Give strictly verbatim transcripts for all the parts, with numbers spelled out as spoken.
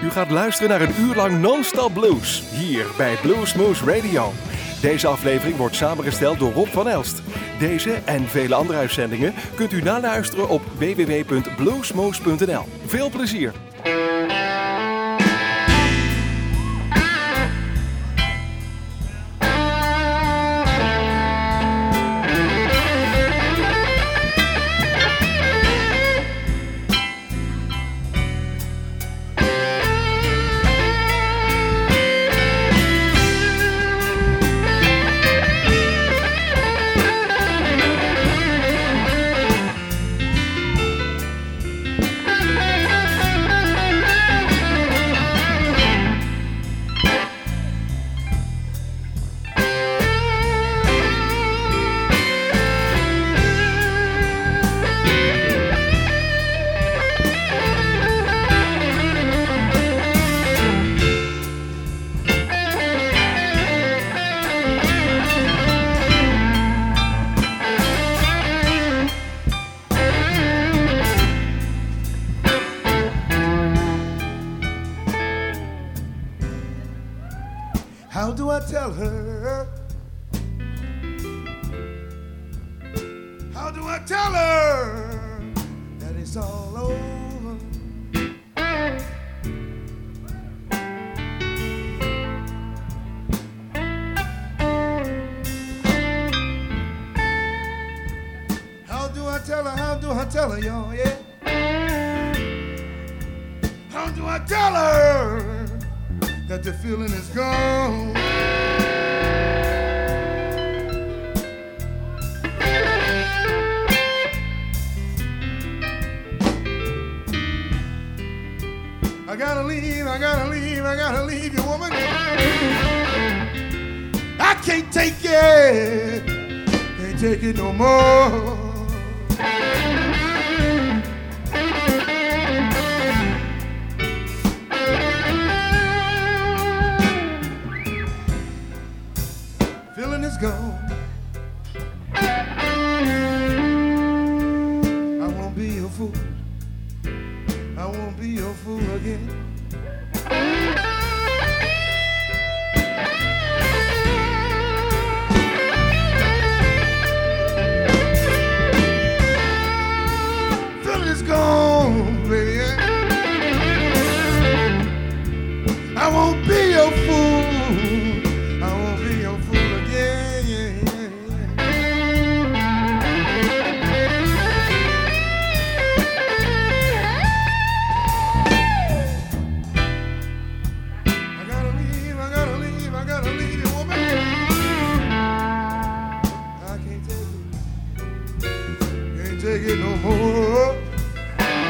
U gaat luisteren naar een uur lang non-stop blues, hier bij Bluesmoose Radio. Deze aflevering wordt samengesteld door Rob van Elst. Deze en vele andere uitzendingen kunt u naluisteren op w w w punt bluesmoose punt n l. Veel plezier! How do I tell her? How do I tell her that it's all over? How do I tell her? How do I tell her, y'all? Yeah. How do I tell her that the feeling is gone? I gotta leave, I gotta leave, I gotta leave you, woman. I can't take it, can't take it no more. Feeling is gone. I won't be your fool. I won't be your fool again. Feeling is gone, baby. I won't be your fool. I won't be your fool. Take it no more.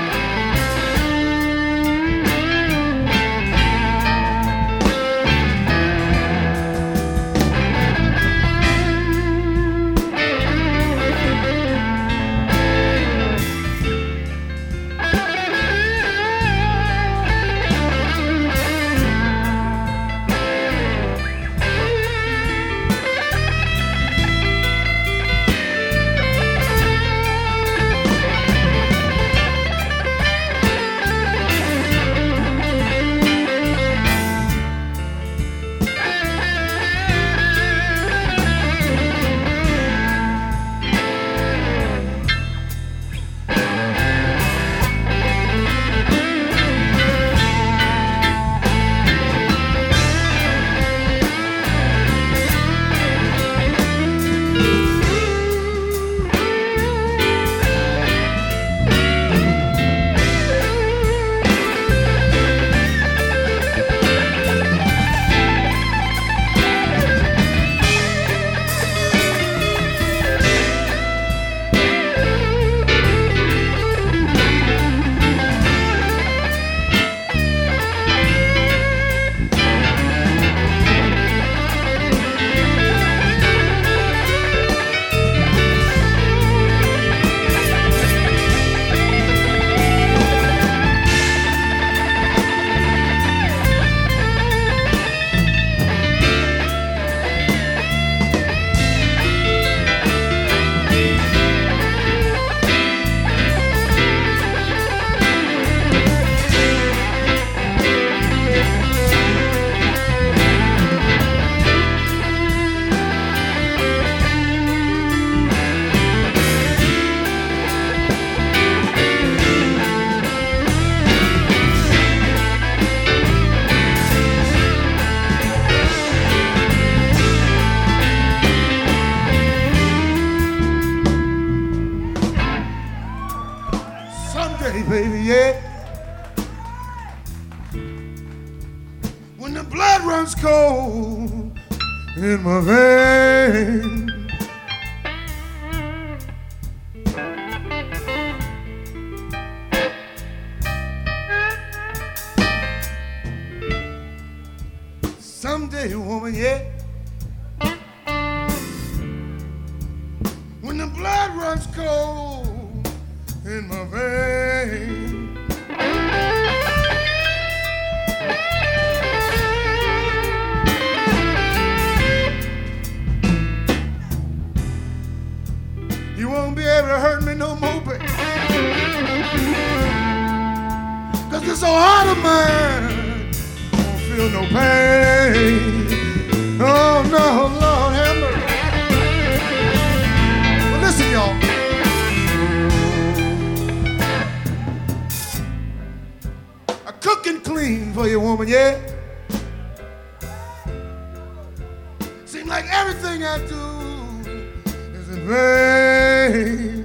when the blood runs cold in my veins. Someday, woman, yeah, when the blood runs cold in my veins. You won't be able to hurt me no more, baby, 'cause this old heart of mine won't feel no pain. Oh no, Lord have mercy. Well, listen, y'all. I cook and clean for you, woman, yeah. Seems like everything I do is in vain.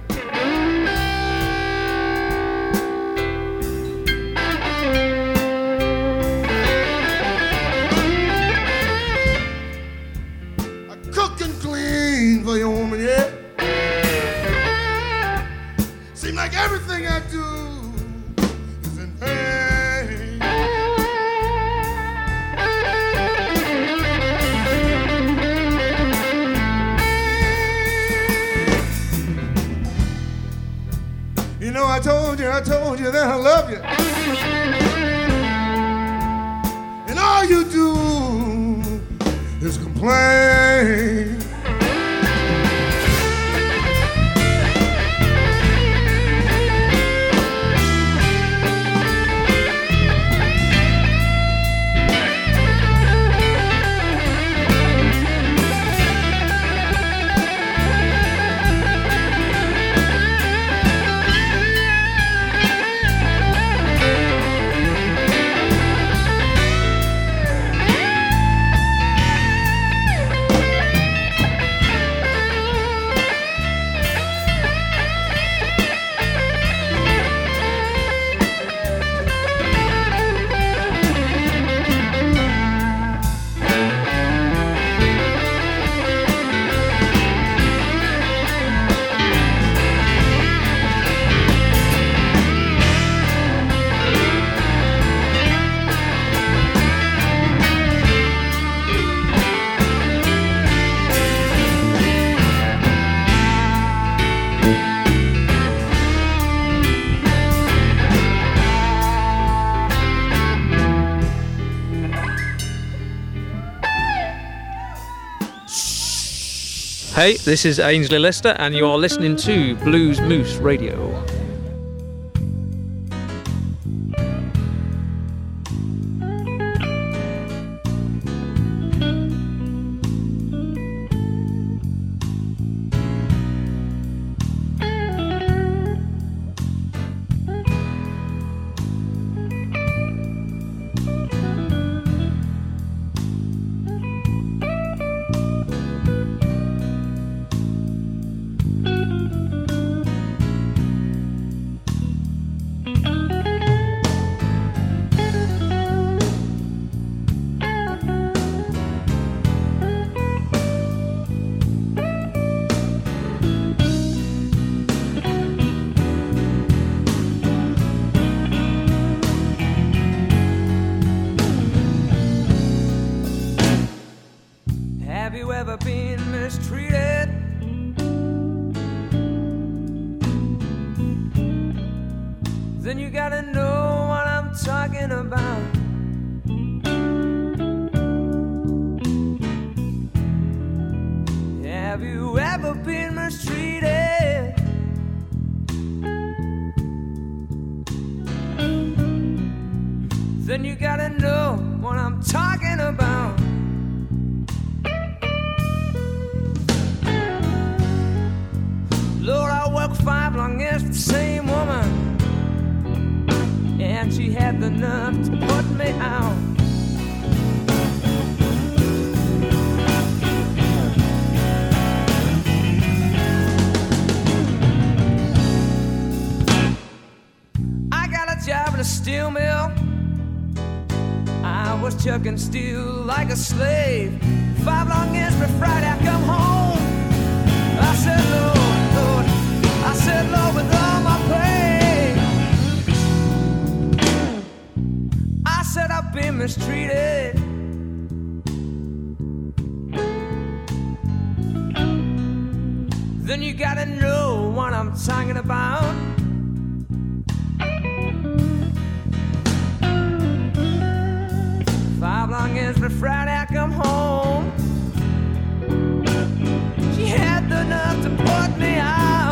For your woman, yeah. Seems like everything I do is in vain. You know, I told you, I told you that I love you, and all you do is complain. Hey, this is Ainsley Lister, and you are listening to Blues Moose Radio. was chucking steel like a slave. Five long years before Friday I come home. I said, Lord, Lord, I said, Lord, with all my pain, I said I've been mistreated. Then you gotta know what I'm talking about. Five long years before Friday I come home. She had the nerve to put me out.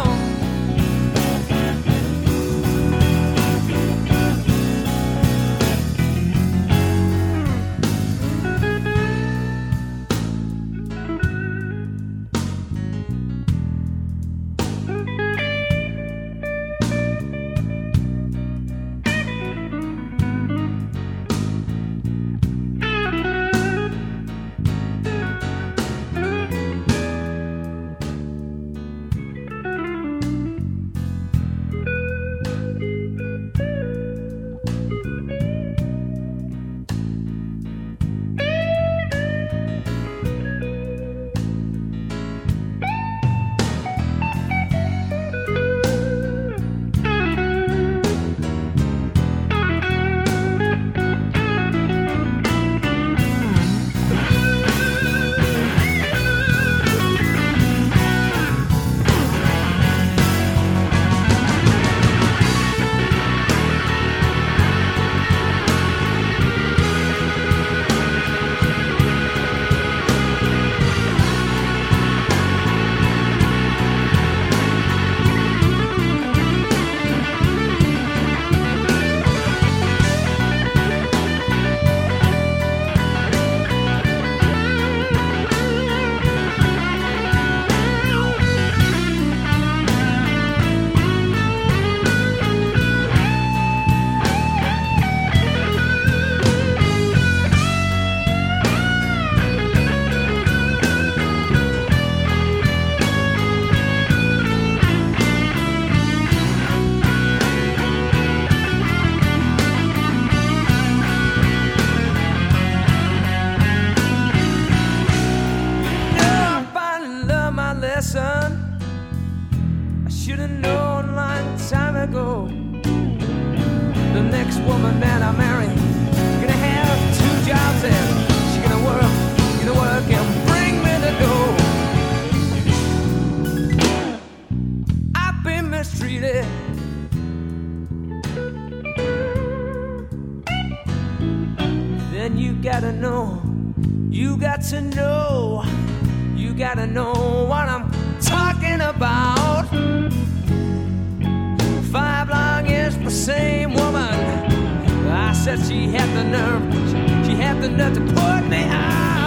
To know, you gotta know what I'm talking about. Five long years for the same woman. I said she had the nerve, she, she had the nerve to put me out.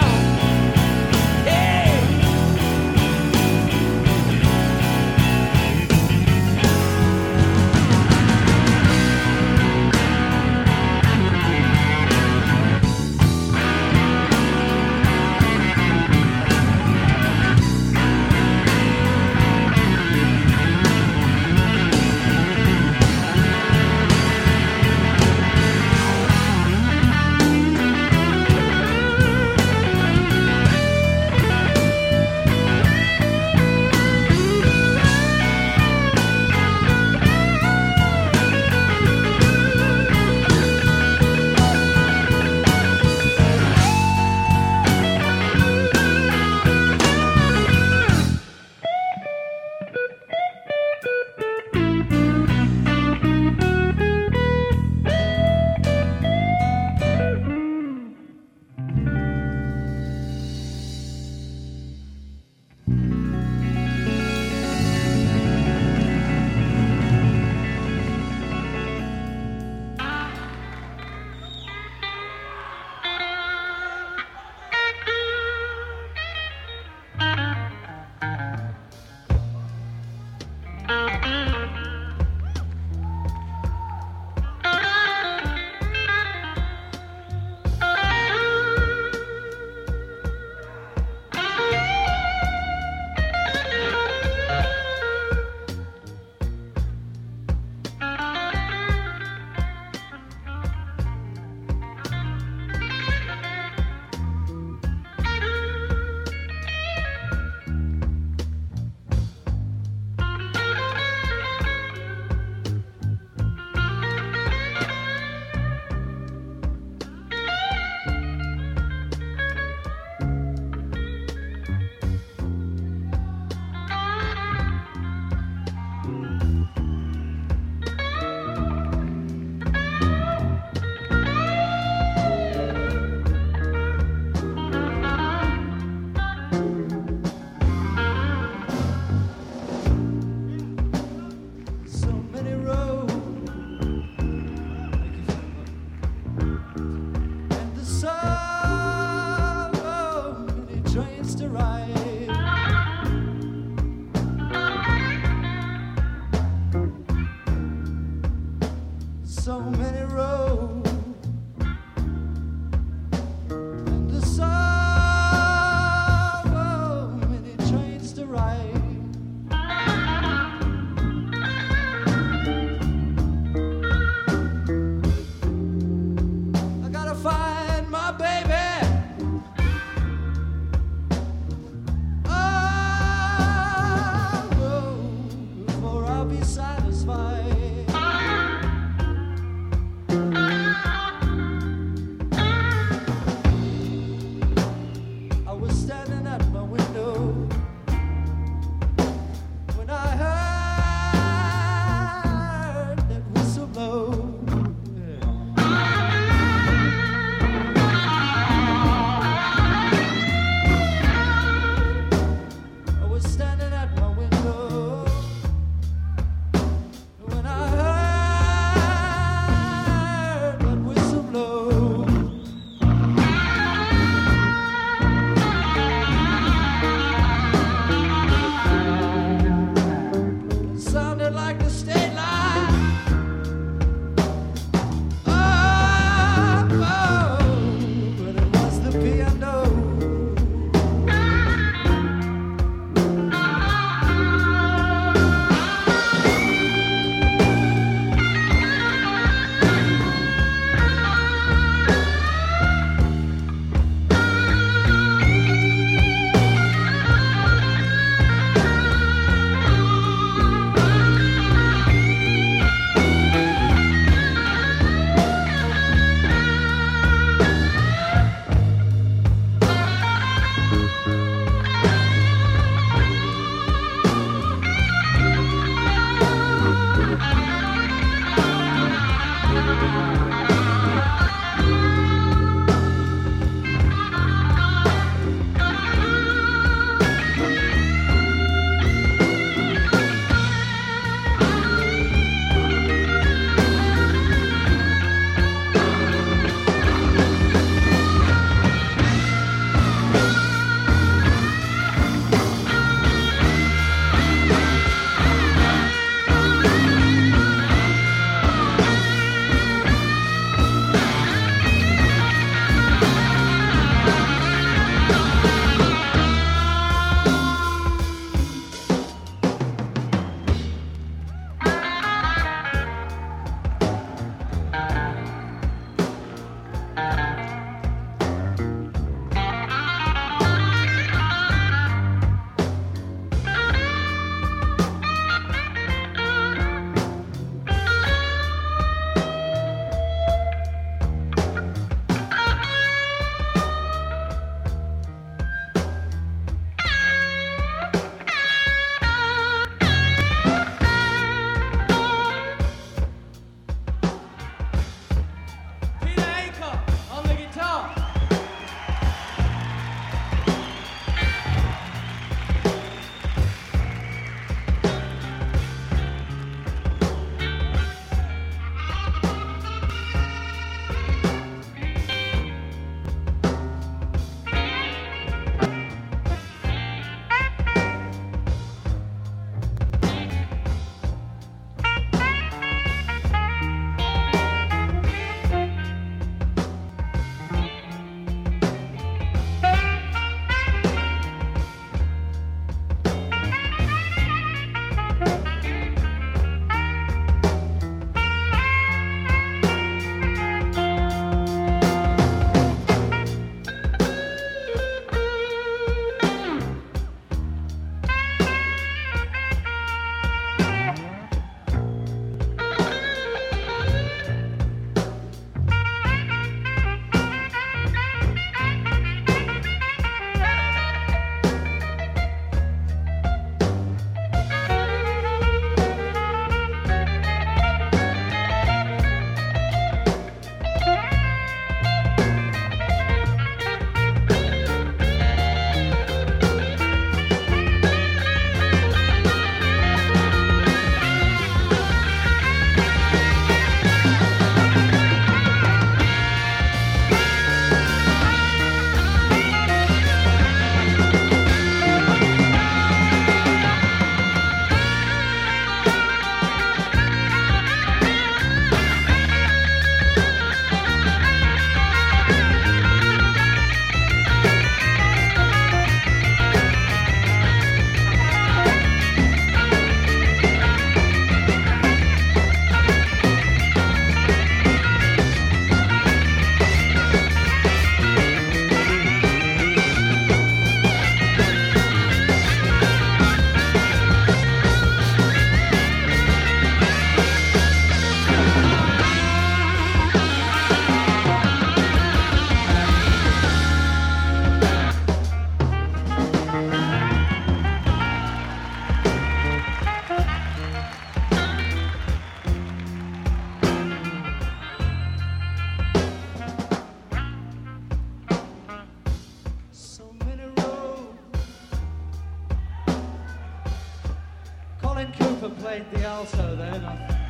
played the alto then.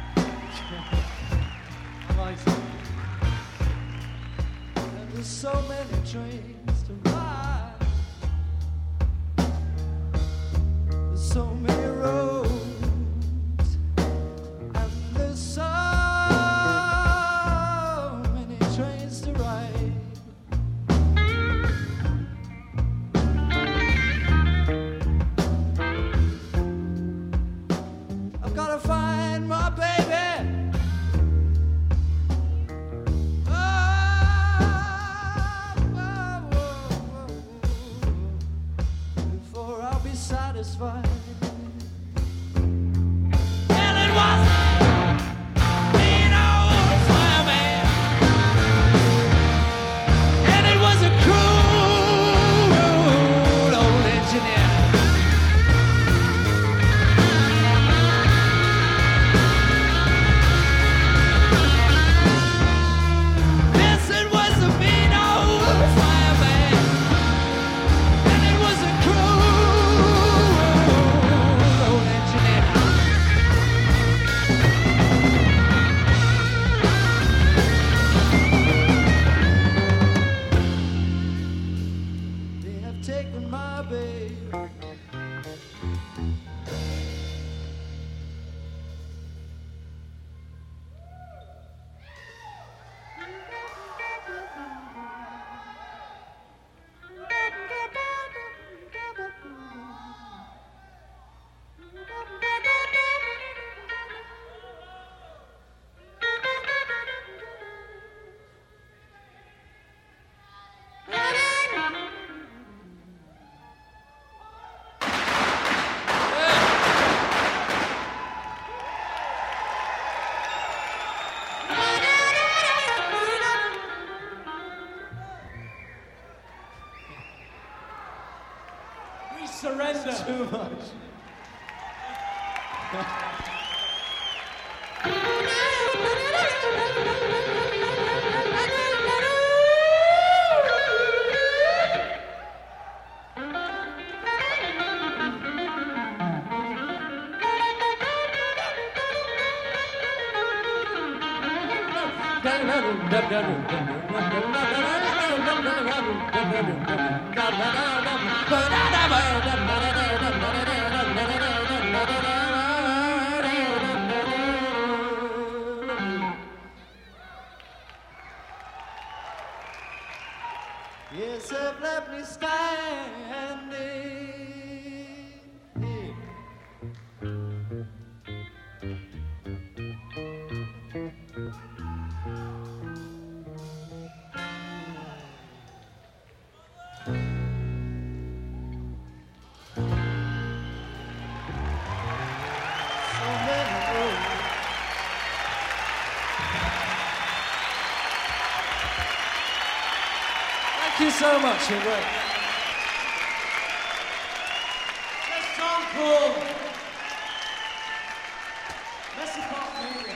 I like it. There's so many trains to ride. There's so many roads, and there's so many trains to ride. I've gotta find my baby. Satisfied. Well, it was being old fireman, and it was a cruel old engineer. Yes, it was a mean old fireman, and it was a cruel taken my baby. Surrender. Too much. Yes, I've left me standing. Thank you so much, you're great. Let's song called Messi Park Movie.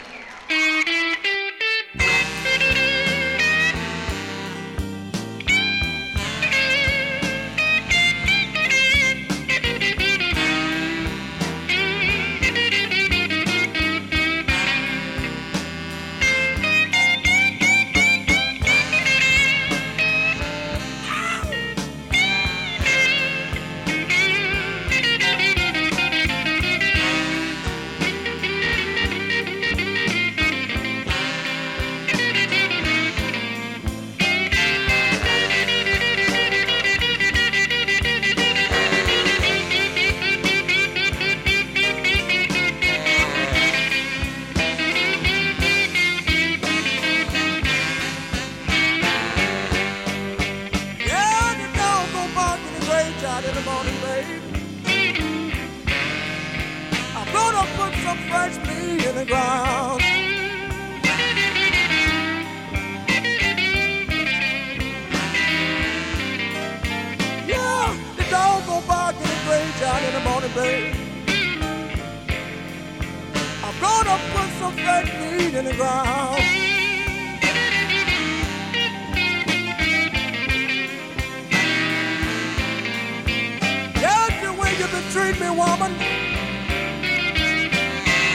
Treat me, woman.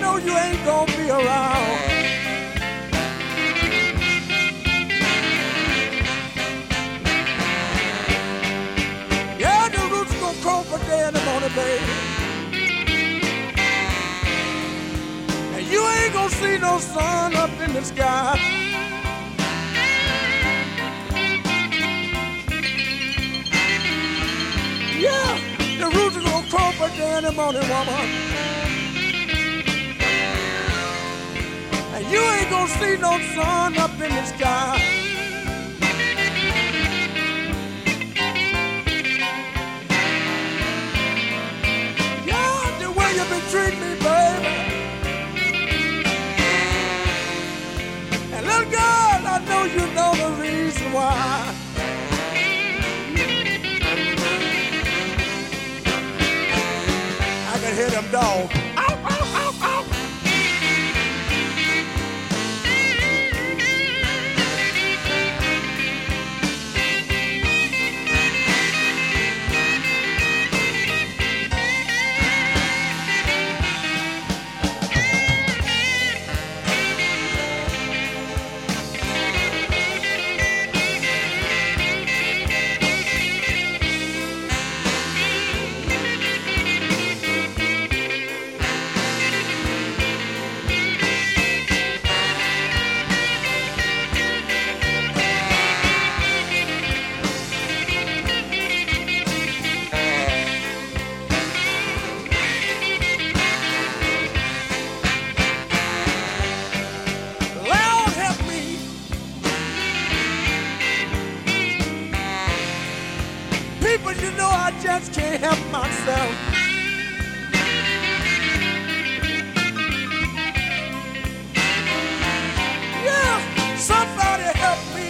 know you ain't gonna be around. Yeah, the roots gonna croak for day in the morning, baby. And you ain't gonna see no sun up in the sky. Yeah, the roots are gonna croak for day in the morning, woman. And you ain't gonna see no sun up in the sky. Yeah, the way you been treating me, baby. And little girl, I know you know the reason why. I can hear them dogs. Ow, ow, ow, ow. Just can't help myself. Yeah, somebody help me.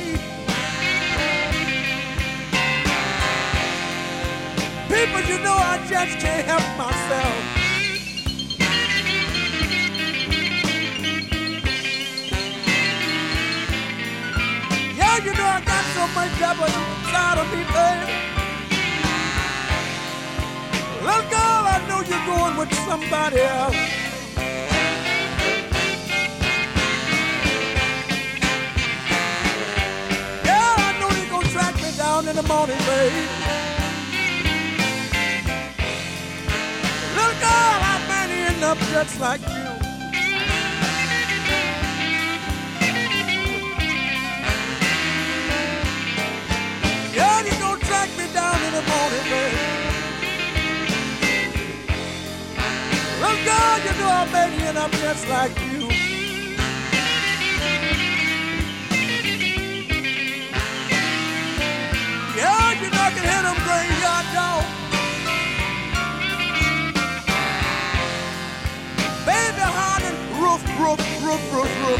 People, you know I just can't help myself. Yeah, you know I got so much trouble inside of me, baby. Little girl, I know you're going with somebody else. Yeah, I know you're gonna track me down in the morning, babe. Little girl, I might end up just like you. Yeah, you're gonna track me down in the morning, babe. Little girl, you know I made you and I'm just like you. Yeah, you know I can hear them graveyard dogs. Baby, hollering, roof, roof, roof, roof, roof.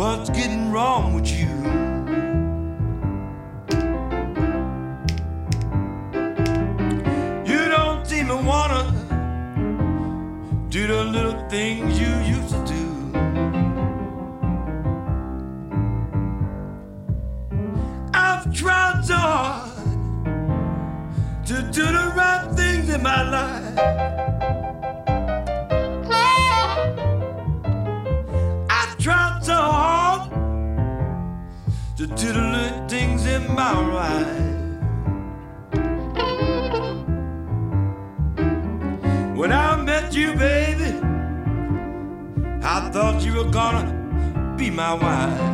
what's getting wrong with you. You don't seem to wanna do the little things you used to do. I've tried so hard to do the right things in my life. I've tried so hard to do the little things in my life. When I met you, baby, I thought you were gonna be my wife.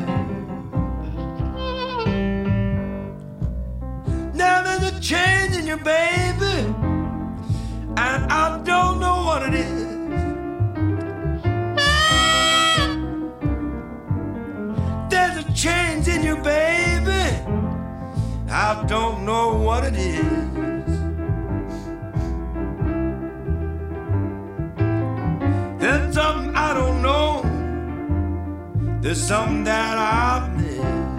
Now there's a change in you, baby, and I don't know what it is. There's a change in you, baby, I don't know what it is. There's something I don't know. There's something that I've missed.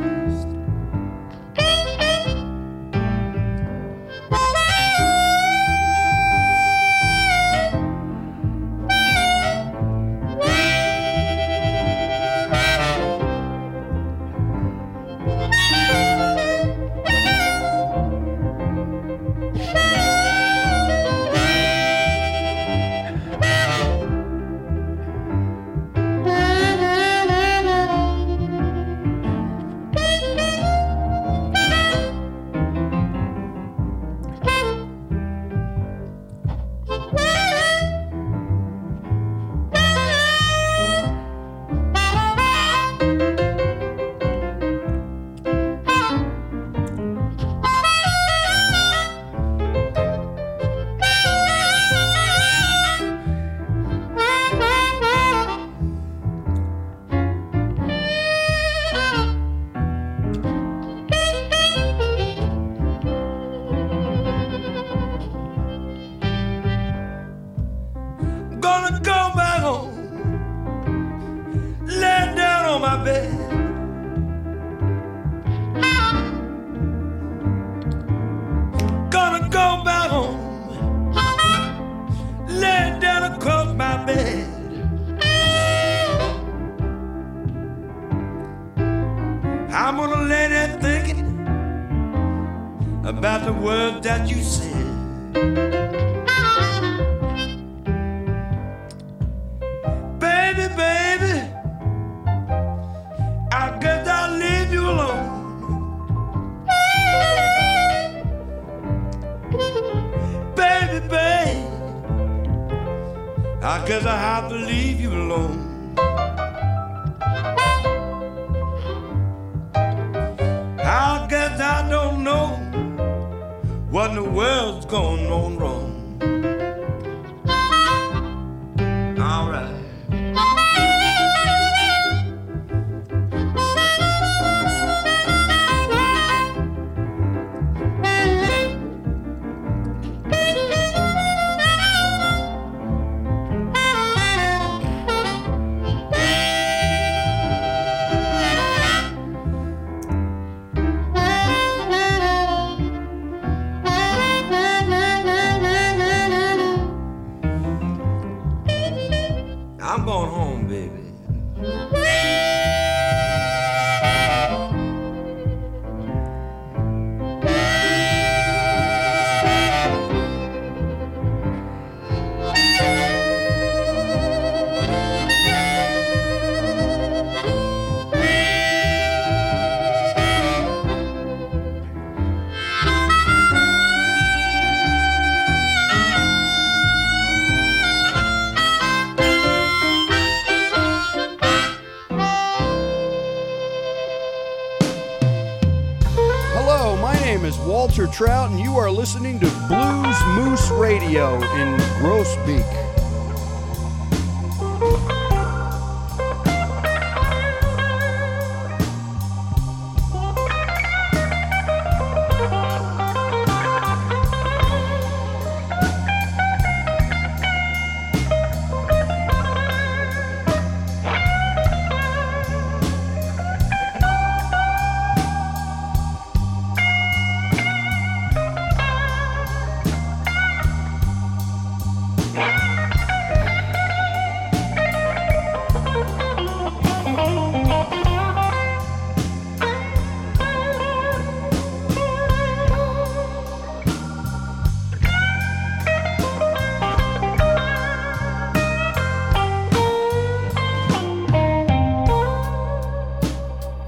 Walter Trout, and you are listening to Blues Moose Radio in Groesbeek.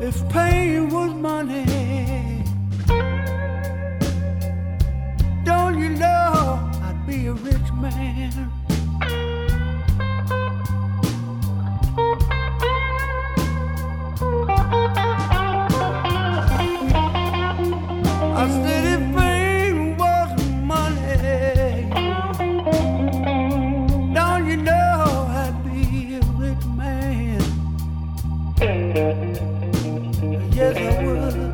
If pain was money, don't you know I'd be a rich man? I said if pain was money, don't you know I'd be a rich man? Yes, I would.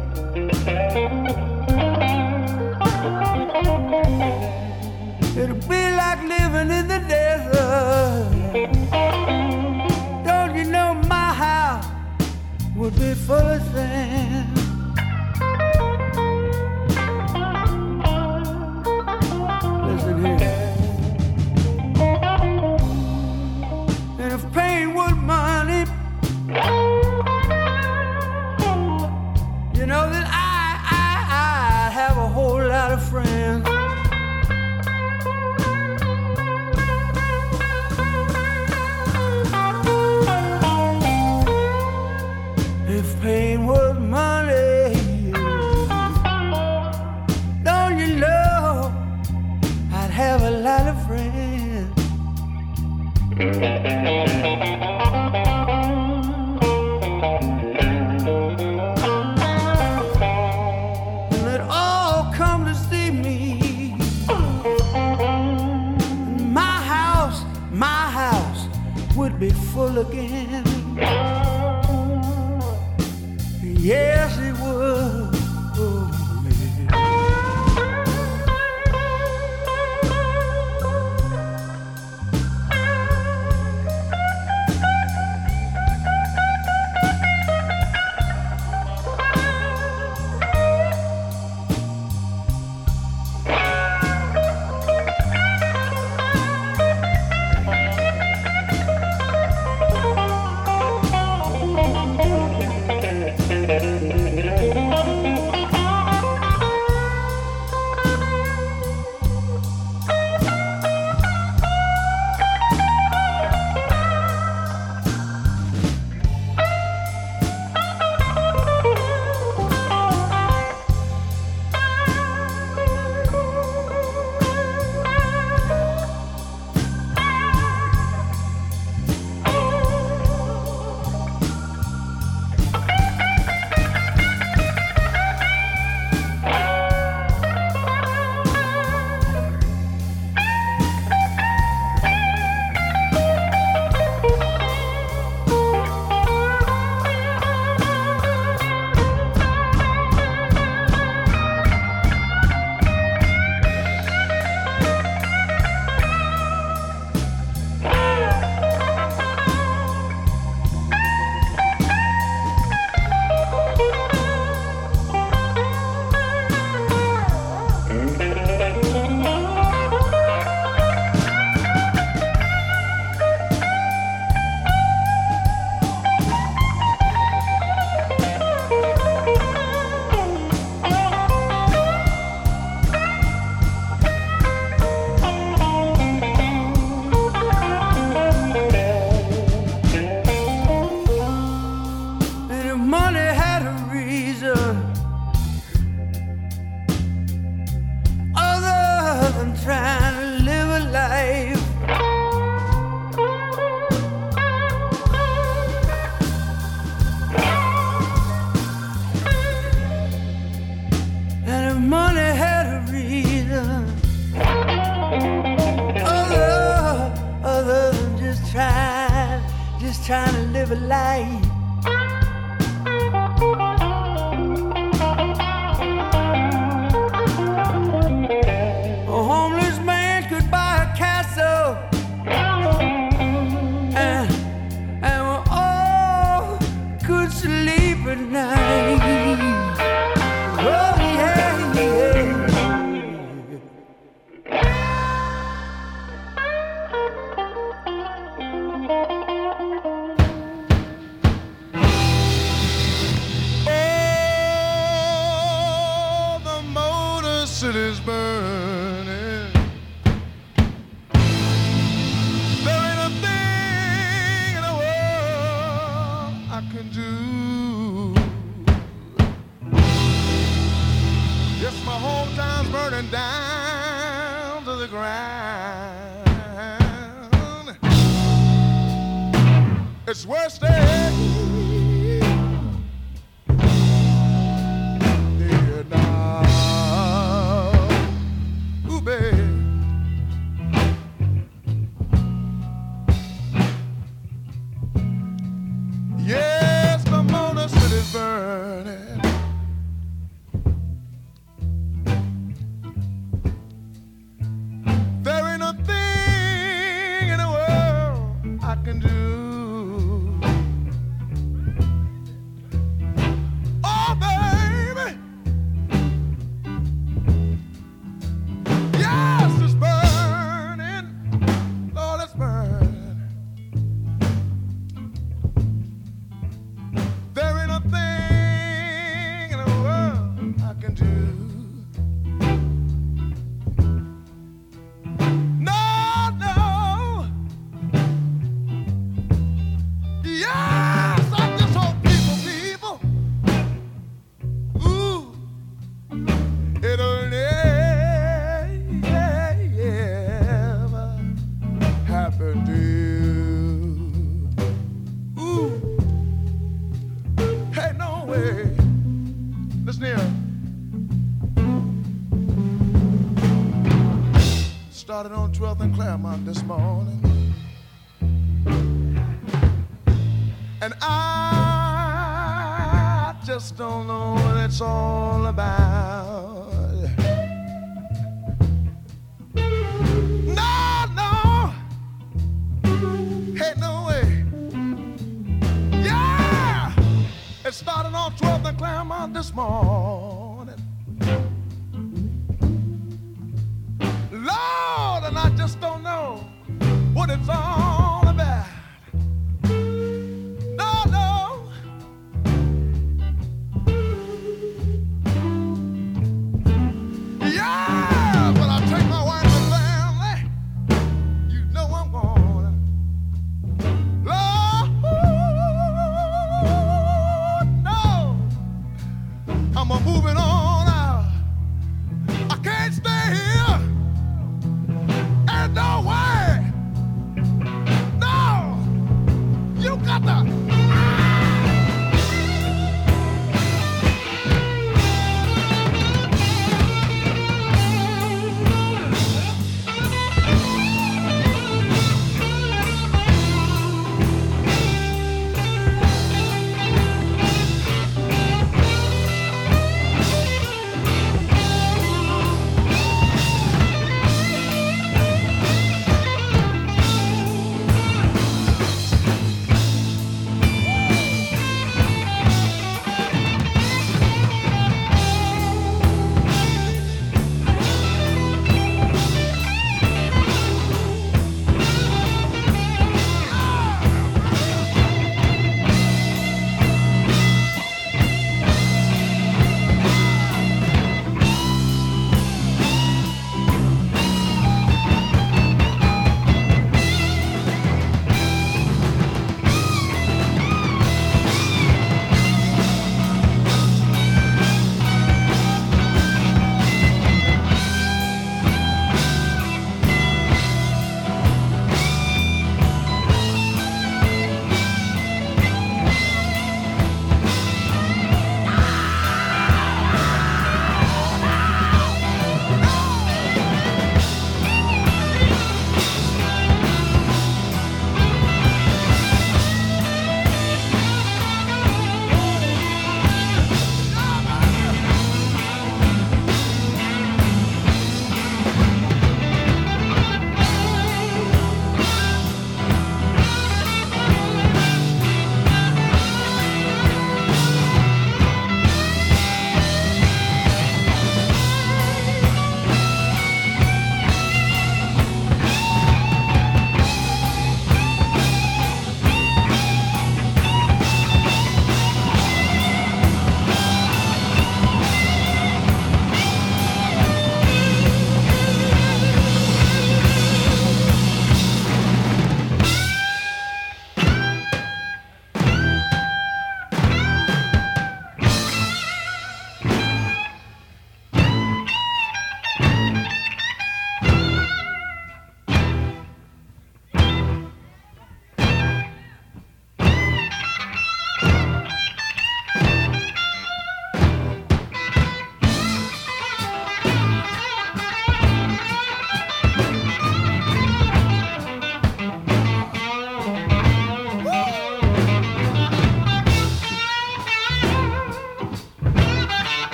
It'd be like living in the desert. Don't you know my house would be full of sand? Listen here. And if pain was money, you know that I, I, I have a whole lot of friends. If pain was money, don't you know I'd have a lot of friends. And they'd all come to see me. My house, my house would be full again. Yes, it would. Oh, trying to live a life. A homeless man could buy a castle, and, and we all could sleep at night. Oh yeah, yeah. City's burning. There ain't a thing in the world I can do. time's burning down to the ground. It's worse than Vietnam. Ooh, baby. Yes, the motor city's burning. There ain't a thing in the world I can do. Oh, baby. Yes, it's burning. Lord, it's burning. There ain't a thing in the world I can do. No, no. Yes, I just hope people, people, ooh, it'll never happen to you. Ooh. Hey, no way. Listen here. Started on twelfth and Claremont this morning. And I just don't know what it's all about. No, no. Hey, no way. Yeah! It started on twelfth and Claremont this morning. Lord, and I just don't know what it's all about. No, no. Yeah, but I take my wife and family. You know I'm gonna. Lord, no. I'm a moving on out. I can't stay here. Ain't no way.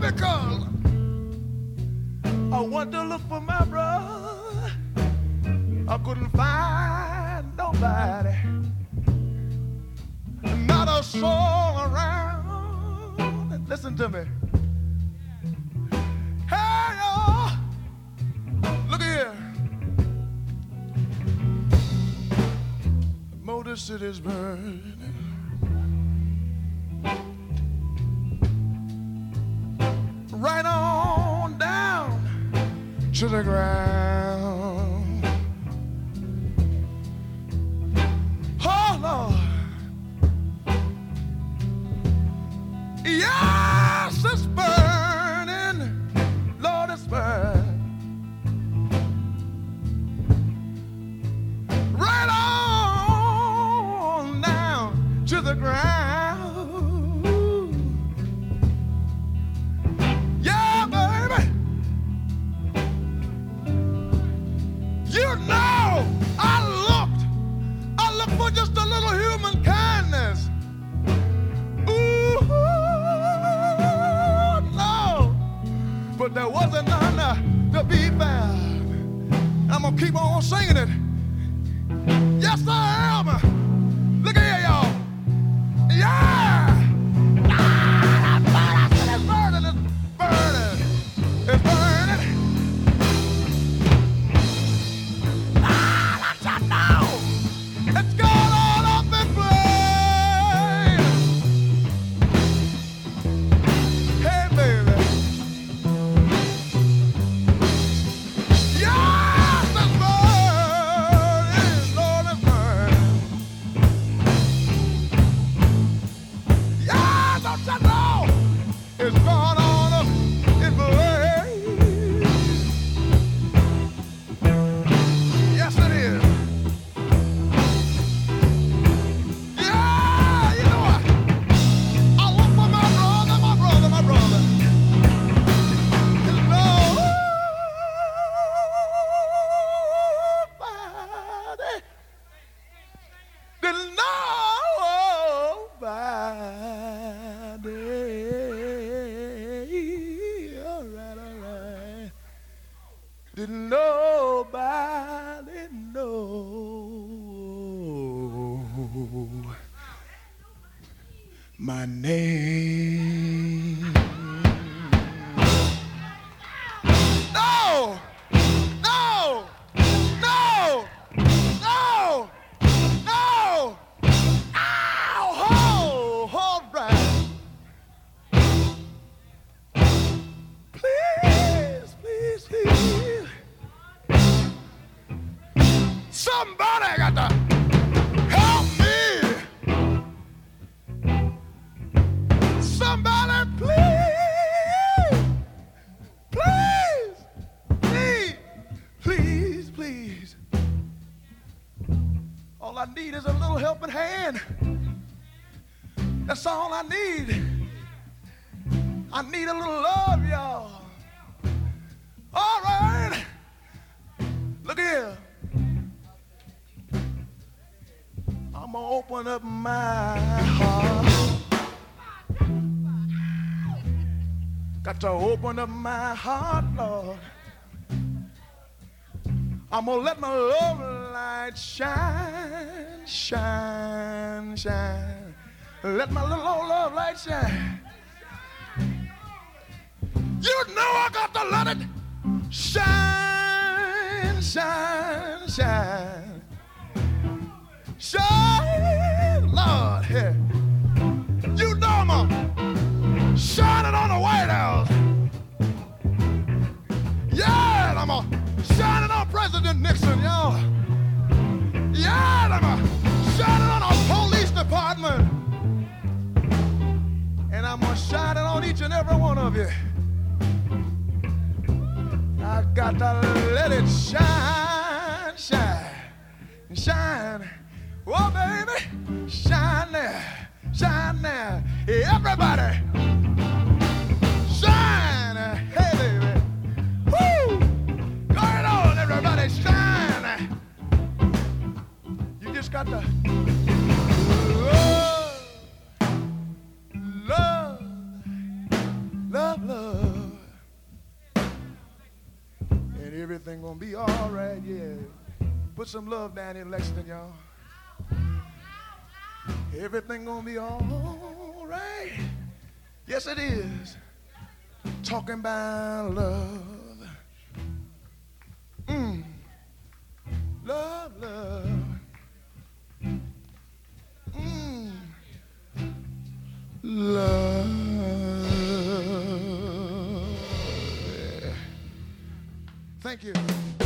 because I went to look for my brother. I couldn't find nobody, not a soul around. Listen to me. Hey, y'all, look here. Motor City's burning. Right on down to the ground. Oh, Lord. Yes, it's burning. Lord, it's burning. Right on down to the ground. Yeah, baby. You know, I looked. I looked for just a little human kindness. Ooh, no. But there wasn't none uh, to be found. I'm gonna keep on singing it. Yes, I am. Look here, y'all. Yeah. Ah, it's burning, it's burning, it's burning. Ah, that's it now. It's gone all up in flames. Hey, baby. Yes, it's burning, Lord, it's burning. Yeah, don't you know? It's gone on up in flames. Yes, it is. Yeah, you know what? I look for my brother, my brother, my brother. There's nobody. There's nobody. All right, all right. Did nobody know my name? No! No! No! No! No! Ow! Ho! All right. Please, please, please. Somebody got to help me. Somebody, please, please, please, please, please. All I need is a little helping hand. That's all I need. I need a little love, y'all. All right. Look here. I'm gonna open up my heart. Got to open up my heart, Lord. I'm gonna let my love light shine, shine, shine. Let my little old love light shine. You know I got to let it shine, shine, shine. Shine, Lord, yeah. You know I'm a shining on the White House. Yeah, I'm a shining on President Nixon, y'all. Yeah, I'm a shining on our police department. And I'm a shining on each and every one of you. I got to let it shine, shine, shine. Oh, baby, shine there, shine there. Everybody, shine. Hey, baby. Woo! Go ahead on, everybody, shine. You just got to love, love, love, love. Everything gonna be all right, yeah. Put some love down in Lexington, y'all. Everything gonna be all right. Yes, it is. Talking about love. Mm. Love, love. Mm. Love. Yeah. Thank you.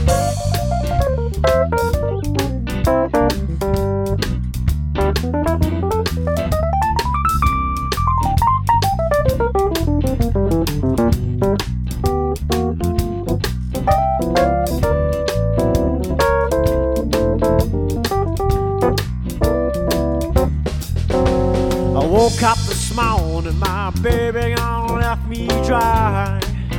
I woke up this morning, my baby gone left me dry.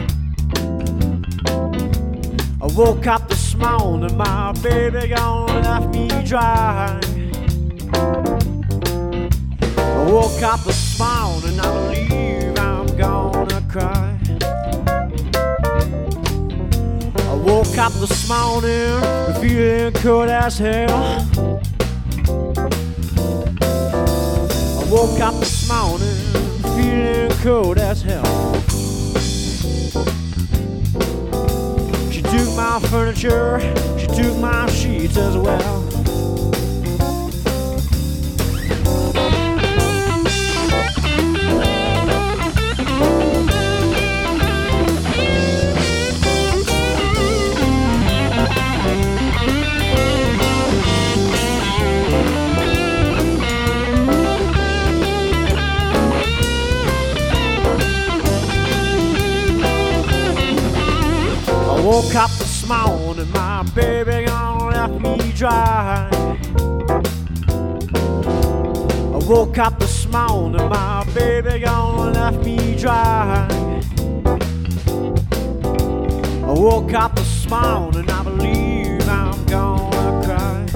I woke up this morning, my baby gone left me dry. I woke up this morning, I believe I'm gonna cry. I woke up this morning, feeling cold as hell. I woke up this morning, feeling cold as hell. She took my furniture, she took my sheets as well. I woke up this morning, my baby gone left me dry. I woke up this morning, my baby gone left me dry. I woke up this morning, I believe I'm gonna cry.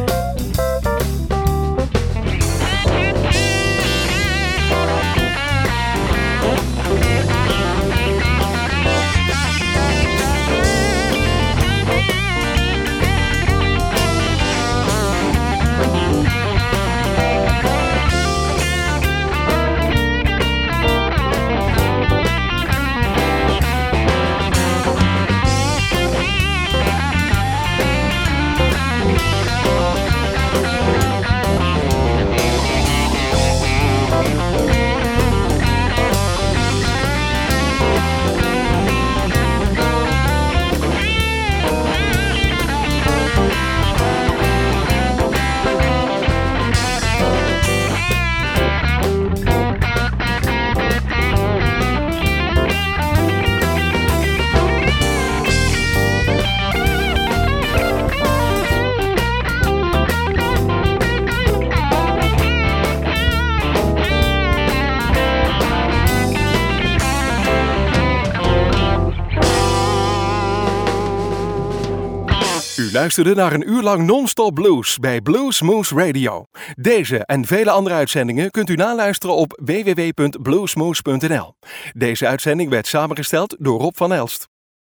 U luisterde naar een uur lang non-stop blues bij Blues Moose Radio. Deze en vele andere uitzendingen kunt u naluisteren op w w w punt bluesmoose punt n l. Deze uitzending werd samengesteld door Rob van Elst.